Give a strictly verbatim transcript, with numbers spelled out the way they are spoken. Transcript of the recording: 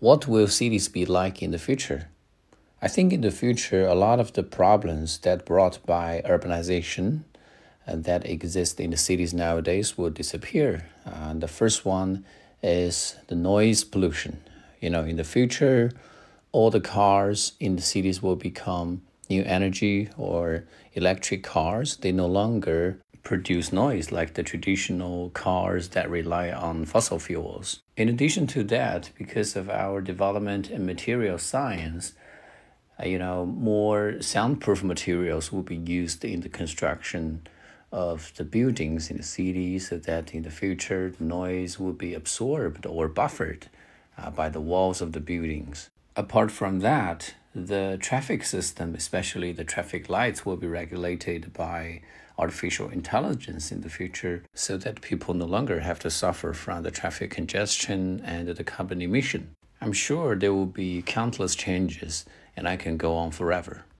What will cities be like in the future? I think in the future, a lot of the problems that brought by urbanization and that exist in the cities nowadays will disappear. Uh, the first one is the noise pollution. You know, in the future, all the cars in the cities will become new energy or electric cars. They no longer produce noise like the traditional cars that rely on fossil fuels. In addition to that, because of our development in material science, uh, you know, more soundproof materials will be used in the construction of the buildings in the city so that in the future the noise will be absorbed or buffered uh, by the walls of the buildings. Apart from that, the traffic system, especially the traffic lights, will be regulated by artificial intelligence in the future so that people no longer have to suffer from the traffic congestion and the carbon emission. I'm sure there will be countless changes, and I can go on forever.